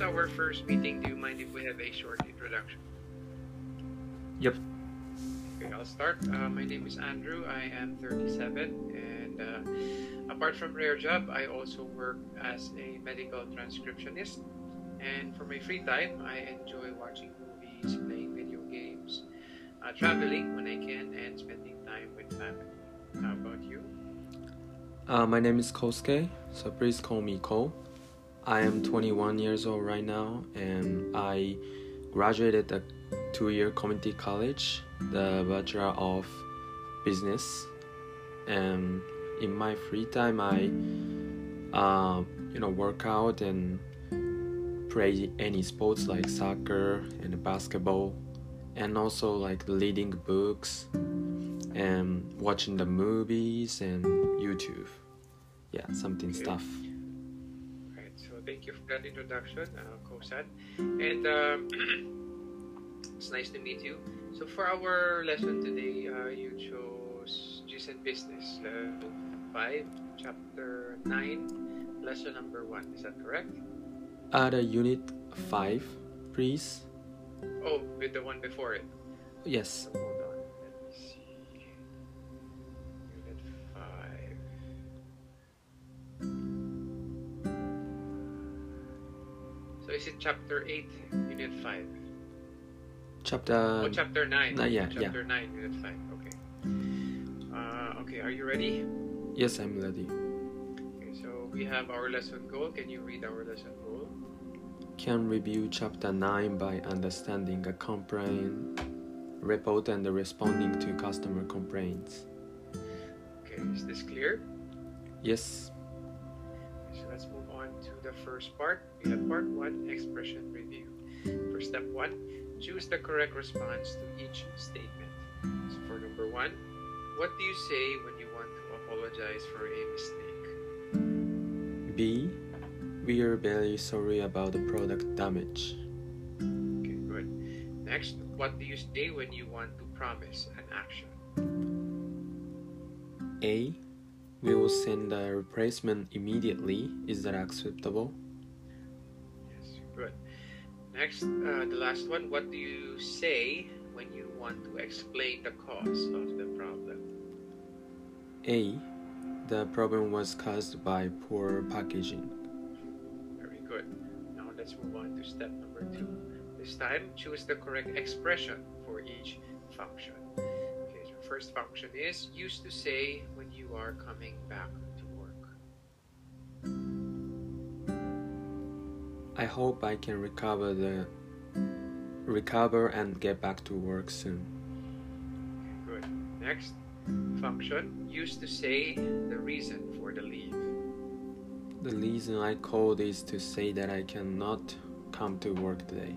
our first meeting, do you mind if we have a short introduction? Yep. Okay, I'll start. My name is Andrew. I am 37, and apart from Rare Job, I also work as a medical transcriptionist. And for my free time, I enjoy watching movies, playing video games, traveling when I can, and spending time with family. How about you? My name is Kosuke, so please call me Ko. I am 21 years old right now, and I graduated a 2-year community college, the Bachelor of Business. And in my free time, I work out and play any sports like soccer and basketball, and also like reading books and watching the movies and YouTube. Yeah, something Okay. stuff. Right. So thank you for that introduction, Kosan. And it's nice to meet you. So for our lesson today, you chose G's and Business, level 5, chapter 9, lesson number 1. Is that correct? The unit 5, please. Oh, with the one before it. Yes. So hold on. Let me see. Unit 5. So is it chapter 8, unit 5? Chapter. Chapter 9. Yeah. Chapter 9, unit 5. Okay. Okay, are you ready? Yes, I'm ready. Okay, so we have our lesson goal. Can you read our lesson goal? Can review chapter 9 by understanding a complaint report and responding to customer complaints. Okay, is this clear? Yes. So let's move on to the first part. We have part 1, expression review. For step 1, choose the correct response to each statement. So for number 1, what do you say when you want to apologize for a mistake? B. We are very sorry about the product damage. Okay, good. Next, what do you say when you want to promise an action? A. We will send a replacement immediately. Is that acceptable? Yes, good. Next, the last one, what do you say when you want to explain the cause of the problem? A. The problem was caused by poor packaging. Very good. Now let's move on to step number 2. This time, choose the correct expression for each function. Okay, so first function is used to say when you are coming back to work. I hope I can recover and get back to work soon. Okay, good. Next, function used to say the reason for the leave. The reason I called is to say that I cannot come to work today.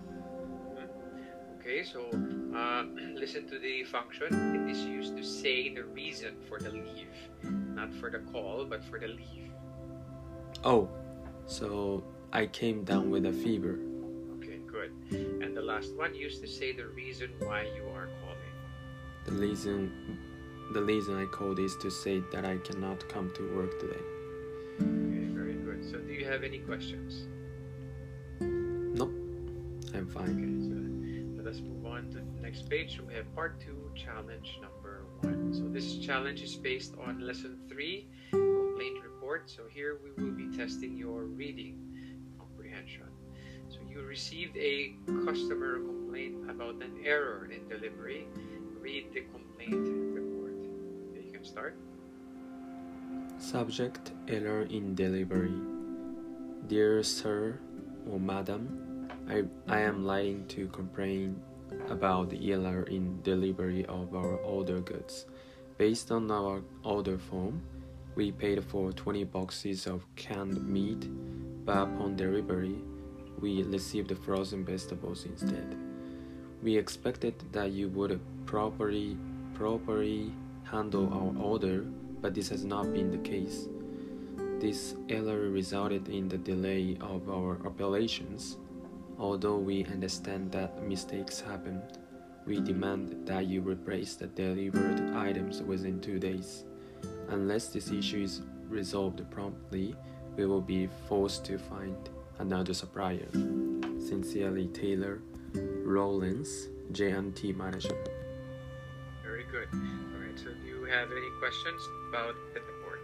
Okay, so listen to the function. It is used to say the reason for the leave, not for the call, but for the leave. Oh, so I came down with a fever. Okay, good. And the last one used to say the reason why you are calling. The reason I called is to say that I cannot come to work today. Okay, very good. So do you have any questions? Nope, I'm fine. Okay, so let us move on to the next page. So we have part 2, challenge number 1. So this challenge is based on lesson 3, complaint report. So here we will be testing your reading comprehension. So you received a customer complaint about an error in delivery. Read the complaint report. Okay, you can start. Subject: error in delivery. Dear sir or madam, I am writing to complain about the error in delivery of our order goods. Based on our order form, we paid for 20 boxes of canned meat, but upon delivery, we received frozen vegetables instead. We expected that you would properly handle our order, but this has not been the case. This error resulted in the delay of our operations. Although we understand that mistakes happen, we demand that you replace the delivered items within 2 days. Unless this issue is resolved promptly, we will be forced to find another supplier. Sincerely, Taylor Rollins, J&T Manager. Very good. All right, so do you have any questions about the report?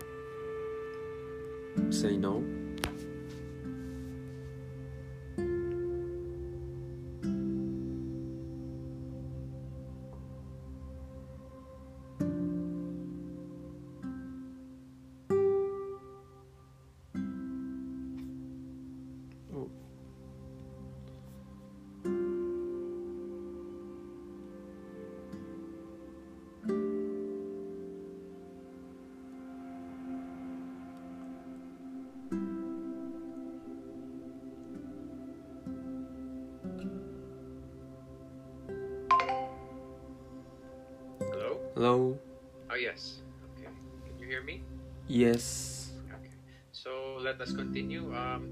Say no. Oh. Hello? Hello? Oh, yes. Okay. Can you hear me? Yes. Okay. So let us continue.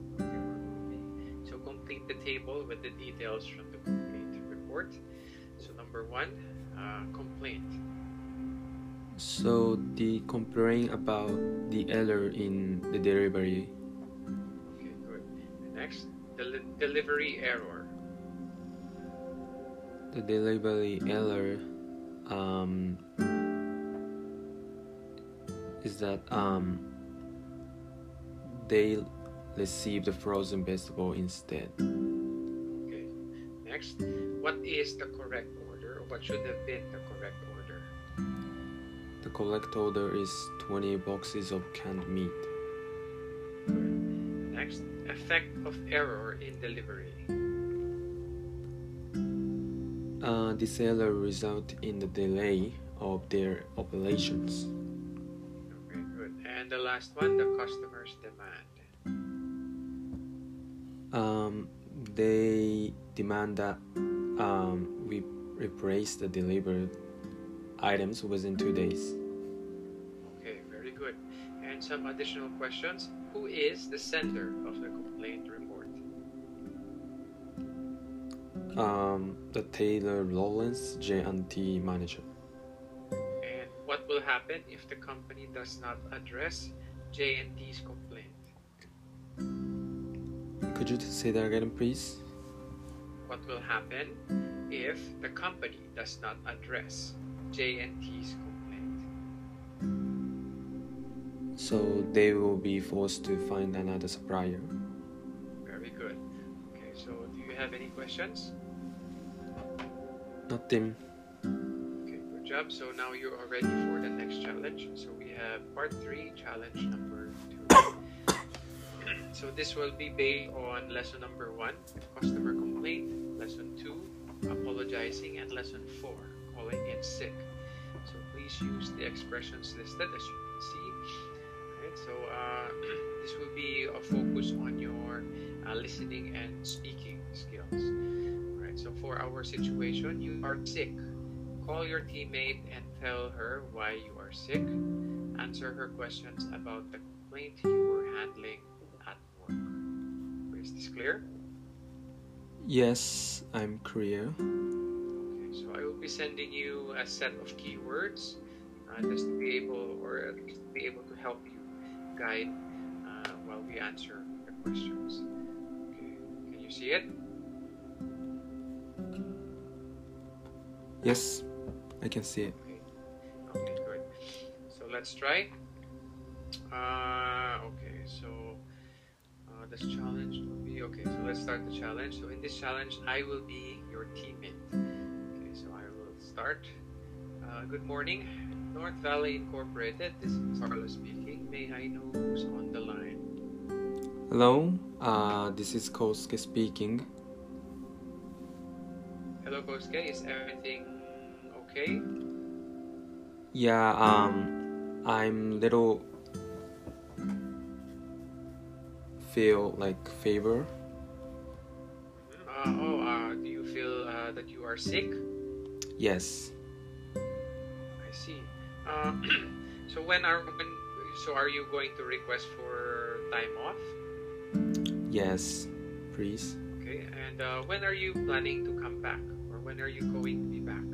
So complete the table with the details from the complaint report. So number 1, complaint. So the complaint about the error in the delivery. Okay, good. Next, delivery error. The delivery error is that they received the frozen vegetable instead. Okay. Next, what is the correct order, or what should have been the correct order? The correct order is 20 boxes of canned meat. Good. Next, effect of error in delivery. This error resulted in the delay of their operations. Okay, good. And the last one, the customer's demand. They demand that we replace the delivered items within 2 days. Okay, very good. And some additional questions. Who is the sender of the complaint report? The Taylor Rollins, J&T Manager. And what will happen if the company does not address J&T's complaint? Could you say that again, please? What will happen if the company does not address J&T's complaint? So they will be forced to find another supplier. Very good. Okay, so do you have any questions? Nothing. Okay, good job. So now you are ready for the next challenge. So we have part 3, challenge number 2. So this will be based on lesson number 1, customer complaint, lesson 2, apologizing, and lesson 4, calling in sick. So please use the expressions listed as you can see. Alright, so this will be a focus on your listening and speaking skills. Alright, so for our situation, you are sick. Call your teammate and tell her why you are sick. Answer her questions about the complaint you were handling at work. Is this clear? Yes, I'm clear. Okay, so I will be sending you a set of keywords just to be able, or to be able to help you guide while we answer the questions. Okay, can you see it? Yes, I can see it. Okay, good. So let's try. Okay, so this challenge will be, okay, so let's start the challenge. So in this challenge, I will be your teammate. Okay, so I will start. Good morning, North Valley Incorporated. This is Carlos speaking. May I know who's on the line? Hello, this is Kosuke speaking. Hello, Kosuke. Is everything okay? Yeah, I'm little feel like fever. Do you feel that you are sick? Yes. I see. So are you going to request for time off? Yes, please. Okay, and when are you planning to come back, or when are you going to be back?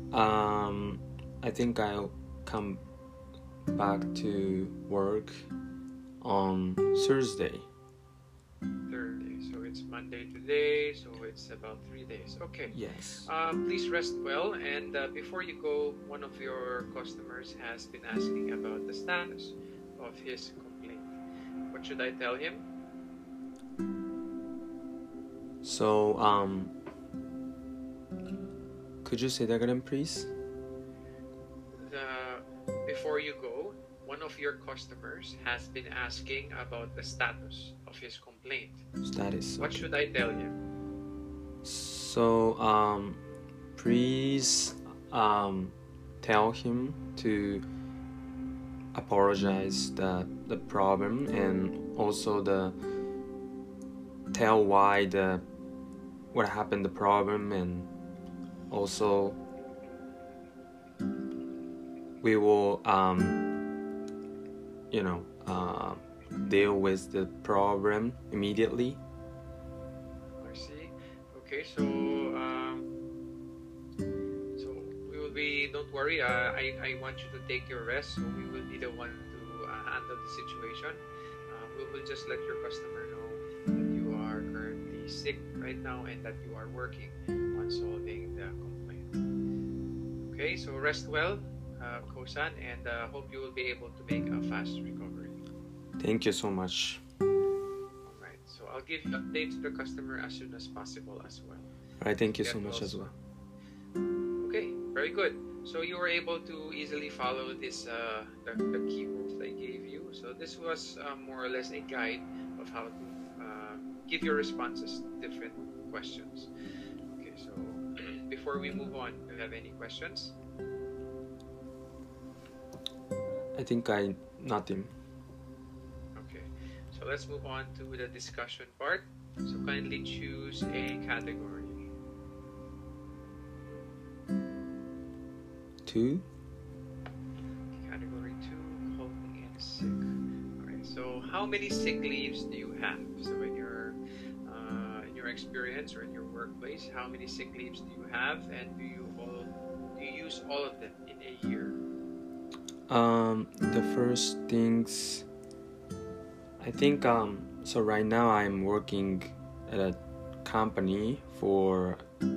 I think I'll come back to work on Thursday. Thursday. So it's Monday today, so it's about 3 days. Okay. Yes. Please rest well. And before you go, one of your customers has been asking about the status of his complaint. What should I tell him? So, could you say that again, please? Before you go, one of your customers has been asking about the status of his complaint. Status. What should I tell him? So, please, tell him to apologize the problem, and also tell why what happened, the problem, and also we will deal with the problem immediately. I see. Okay, so we will be. Don't worry. I want you to take your rest. So we will be the one to handle the situation. We will just let your customer know that you are currently sick right now and that you are working on solving the complaint. Okay, so rest well, Kosan, and hope you will be able to make a fast recovery. Thank you so much. Alright, so I'll give you updates to the customer as soon as possible as well. Alright, thank you so much as well. Okay, very good. So you were able to easily follow this the key rules I gave you. So this was more or less a guide of how to give your responses to different questions. Okay, so before we move on, do you have any questions? I think nothing. Okay, so let's move on to the discussion part. So kindly choose a category. 2. Category 2, calling in sick. Alright, so how many sick leaves do you have? So in your experience or in your workplace, how many sick leaves do you have, and do you use all of them in a year? The first things, I think, so right now I'm working at a company for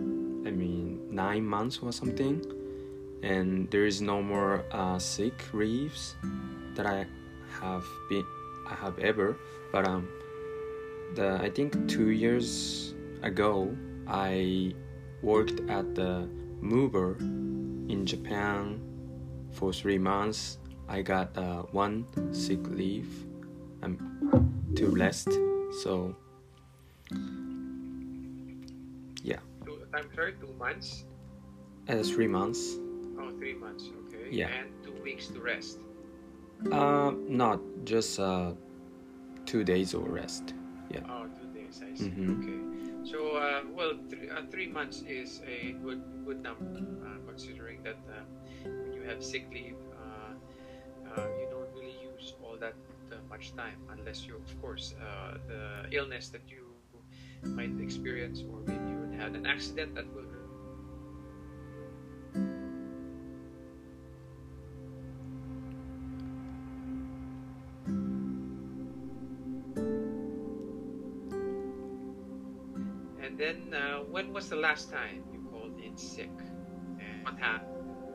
9 months or something, and there is no more sick leaves that I have ever, but I think 2 years ago I worked at the mover in Japan for 3 months. I got 1 sick leave to rest. So yeah. I'm sorry, 2 months? 3 months. Oh, 3 months, okay. Yeah. And 2 weeks to rest. Not just 2 days of rest. Yeah. Oh, 2 days, I see. Mm-hmm. Okay. So, 3 months is a good number, considering that when you have sick leave, you don't really use all that much time, unless you, of course, the illness that you might experience, or maybe you would have an accident that will. And then, when was the last time you called in sick, and what happened?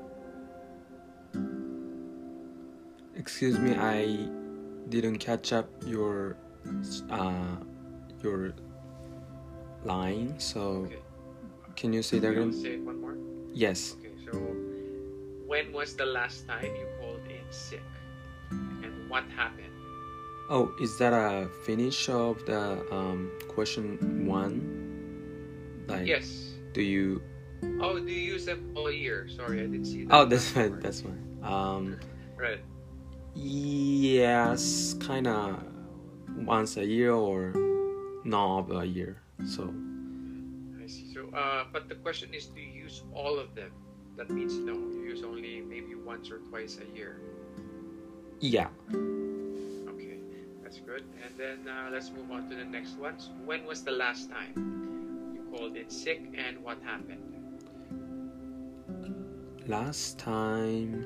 Excuse me, I didn't catch up your line, so Okay. can you say that Will again? you say it one more? Yes. Okay, so when was the last time you called in sick, and what happened? Oh, is that a finish of the question 1? Like, Yes. do you? Oh, do you use them all year? Sorry, I didn't see that. Oh, that's fine. That's fine. Right. Yes, kind of once a year or not a year. So I see. So, but the question is, do you use all of them? That means no. You use only maybe once or twice a year. yeah. Okay, that's good. And then let's move on to the next one. So when was the last time you called in sick, and what happened? Last time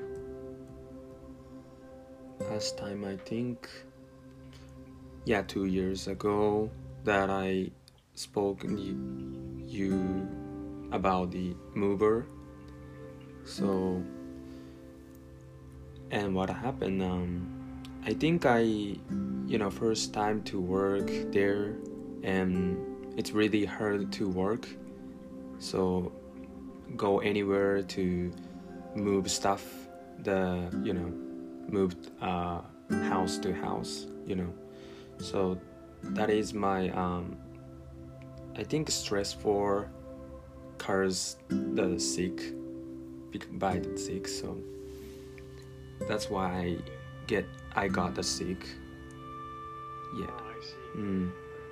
I think, 2 years ago. that I spoke you about the mover. So, and what happened? I think first time to work there, and it's really hard to work. So, go anywhere to move stuff, move house to house, So that is my I think stress for cars the sick by the sick, so that's why I got the sick. Yeah. Oh, I see.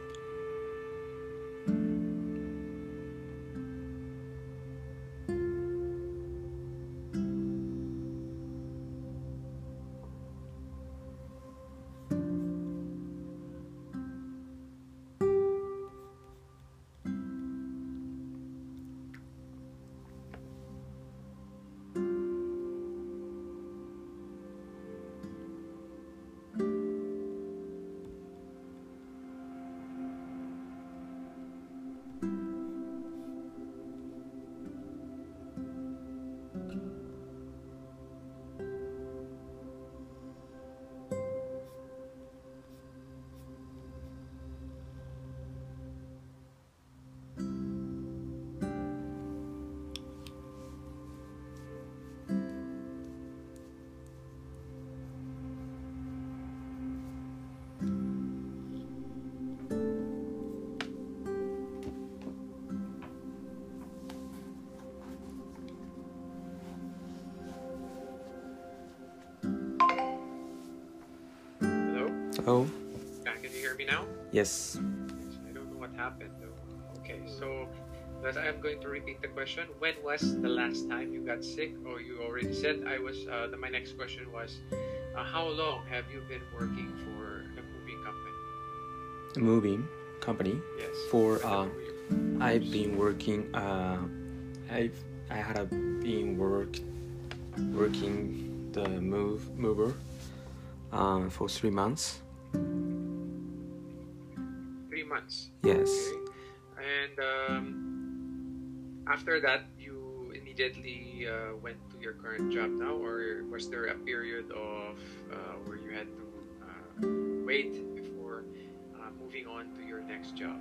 Oh, Can you hear me now? yes. I don't know what happened though. Okay, so I'm going to repeat the question. When was the last time you got sick? Or you already said I was. My next question was, how long have you been working for the moving company? A moving company. Yes. For I've been working. I had been working the mover for 3 months. 3 months. Yes. Okay. And after that, you immediately went to your current job now, or was there a period of where you had to wait before moving on to your next job?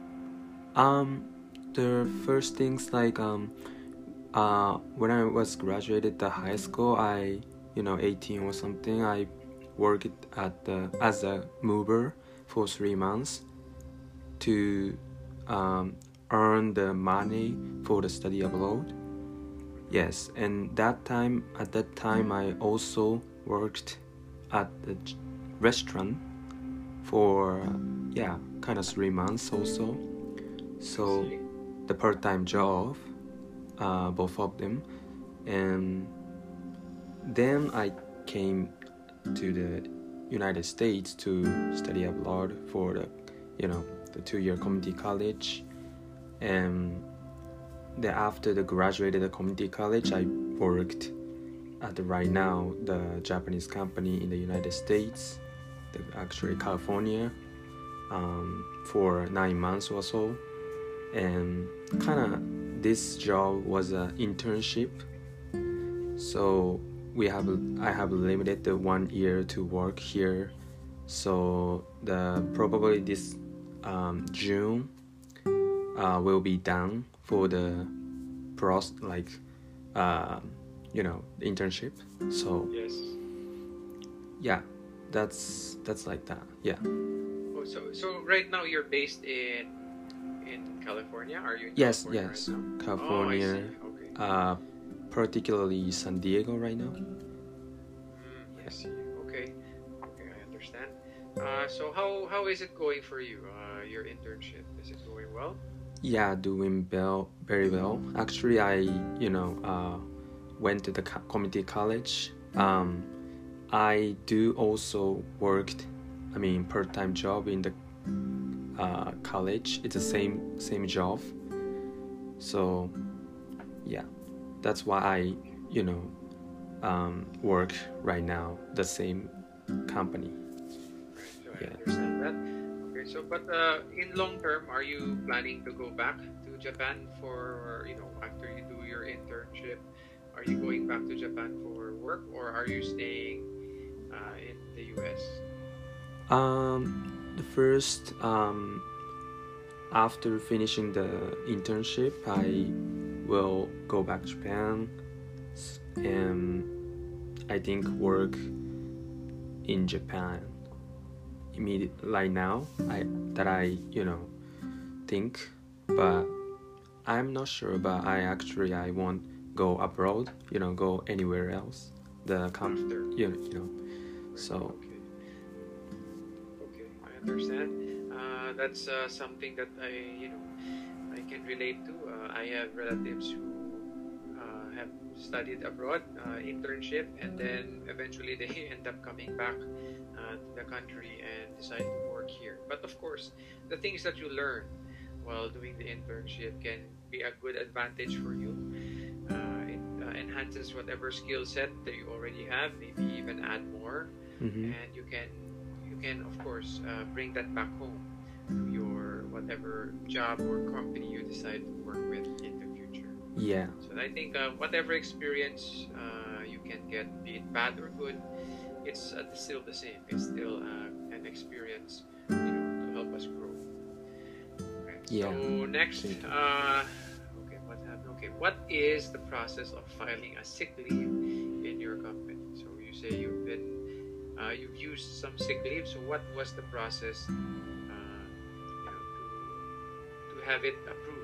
The first things like when I was graduated the high school, 18 or something, I worked as a mover for 3 months to earn the money for the study abroad. Yes, and at that time I also worked at the restaurant for kind of 3 months also. So the part-time job, both of them, and then I came to the United States to study abroad for the 2-year community college, and then after the graduated community college, I worked at right now the Japanese company in the United States, actually California, for 9 months or so, and kind of this job was an internship, so I have limited the 1 year to work here, so probably this June will be done for the internship. So yes. Yeah, that's like that. Yeah. Oh, so right now you're based in California? Are you in Yes, California yes. right now? California. Oh, I see. Okay. Particularly San Diego right now. I see. Okay, I understand. So how is it going for you? Your internship, is it going well? Yeah, doing very well. Actually, I went to the community college. I do also worked, part-time job in the college. It's the same job. So yeah, that's why I work right now the same company. Right, so I understand that. Okay, Okay, so but in long term, are you planning to go back to Japan for, after you do your internship? Are you going back to Japan for work, or are you staying in the US? The first after finishing the internship, I will go back to Japan and I think work in Japan immediately right now. I think, but I'm not sure. But I won't go abroad. Go anywhere else. After. So. Okay, I understand. That's something that I can relate to. I have relatives who have studied abroad, internship, and then eventually they end up coming back to the country and decide to work here. But of course, the things that you learn while doing the internship can be a good advantage for you. It enhances whatever skill set that you already have, maybe even add more, and you can of course bring that back home to your whatever job or company you decide to work with in the future. Yeah. So I think whatever experience you can get, be it bad or good, it's still the same. It's still an experience, to help us grow. Okay. Yeah. So next, okay, what happened? Okay, what is the process of filing a sick leave in your company? So you say you've used some sick leave. So what was the process to have it approved?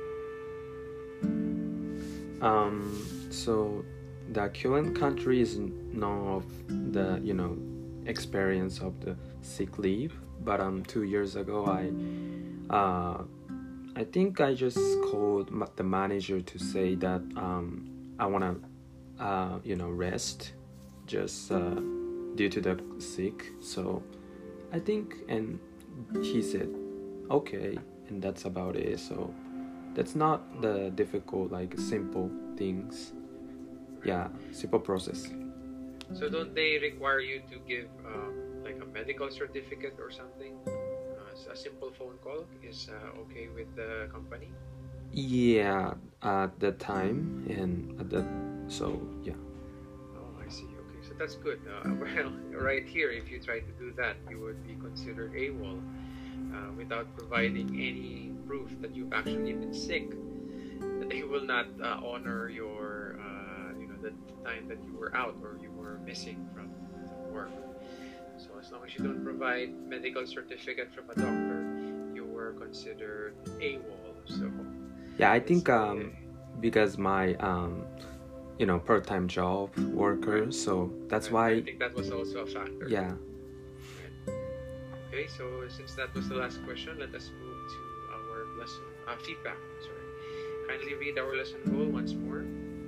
So the current country is none of the experience of the sick leave, but 2 years ago I think I just called the manager to say that I wanna rest just due to the sick. So I think, and he said okay, and that's about it. So that's not the difficult, simple things. Yeah, simple process. So don't they require you to give like a medical certificate or something? A simple phone call is okay with the company? Yeah, at the time and so yeah. Oh, I see. Okay, so that's good. Well, right here, if you try to do that, you would be considered AWOL without providing any proof that you've actually been sick. They will not honor your the time that you were out or you were missing from work. So as long as you don't provide medical certificate from a doctor, you were considered AWOL. So yeah, I think because my part-time job worker, so that's why I think that was also a factor. Yeah. Right. Okay, so since that was the last question, let us move to our lesson feedback. Sorry, kindly read our lesson goal once more.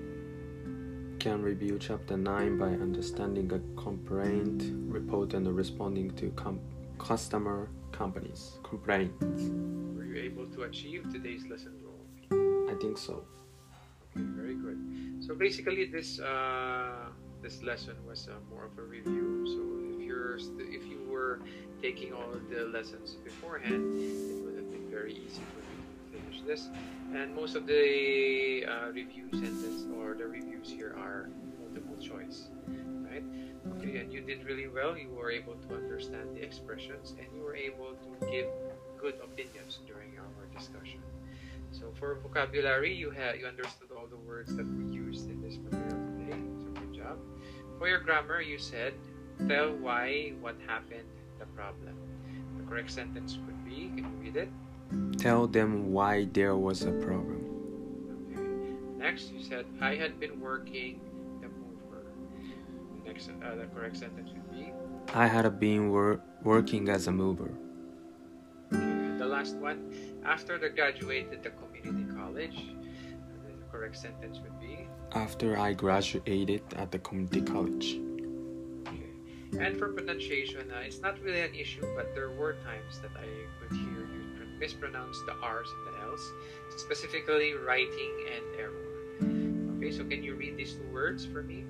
Can review chapter 9 by understanding a complaint, report, and responding to customer companies complaints. Were you able to achieve today's lesson goal? I think so. Okay, very good. So basically, this lesson was more of a review. So if you were taking all of the lessons beforehand, it would have been very easy for you to finish this. And most of the review sentence or the reviews here are multiple choice, right? Okay, and you did really well. You were able to understand the expressions, and you were able to give good opinions during our discussion. So for vocabulary, you understood all the words that we used in this material today. So good job. For your grammar, you said, tell why, what happened, the problem. The correct sentence could be, can you read it? Tell them why there was a problem. Okay. Next, you said, I had been working the mover. Next, the correct sentence would be, I had been working as a mover. Okay. And the last one, after they graduated the community college, the correct sentence would be, after I graduated at the community college. Okay. And for pronunciation, it's not really an issue, but there were times that I could hear you mispronounce the R's and the L's, specifically writing and error. Okay, so can you read these two words for me?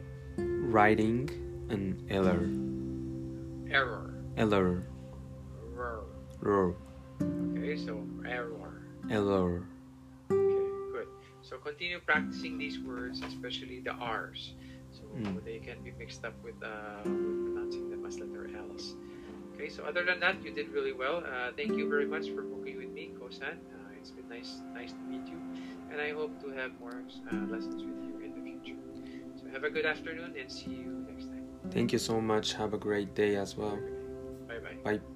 Writing and error. Error. Error. error, Okay, so error. error. Okay, good. So continue practicing these words, especially the R's. So they can be mixed up with pronouncing them as letter L's. Okay, so other than that, you did really well. Thank you very much for booking with me, Kosan. It's been nice to meet you, and I hope to have more lessons with you in the future. So have a good afternoon and see you next time. Thank you so much. Have a great day as well. Bye-bye. Bye.